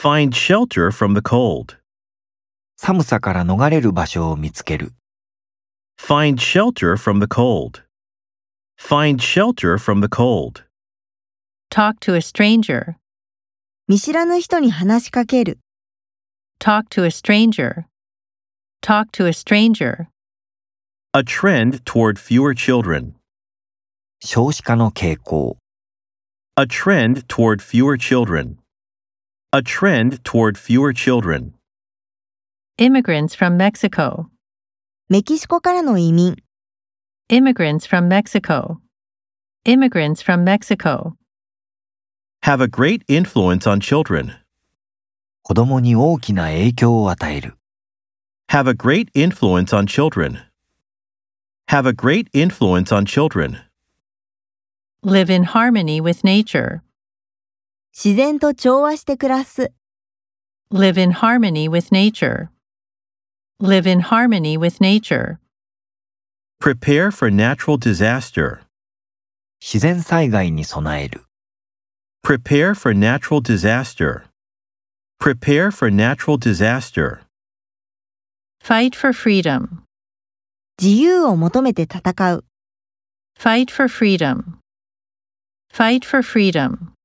Find shelter from the cold. 寒さから逃れる場所を見つける。 Find shelter from the cold. Find shelter from the cold. Talk to a stranger. 見知らぬ人に話しかける。 Talk to a stranger. Talk to a stranger. A trend toward fewer children. 少子化の傾向。 A trend toward fewer children. A trend toward fewer children. Immigrants from Mexico. メキシコからの移民。 Immigrants from Mexico. Immigrants from Mexico. Have a great influence on children. 子供に大きな影響を与える。 Have a great influence on children. Have a great influence on children. Live in harmony with nature. 自然と調和して暮らす。 Live in harmony with nature. Live in harmony with nature. Prepare for natural disaster. 自然災害に備える。 Prepare for natural disaster. Prepare for natural disaster. Fight for freedom. 自由を求めて戦う。 Fight for freedom. Fight for freedom.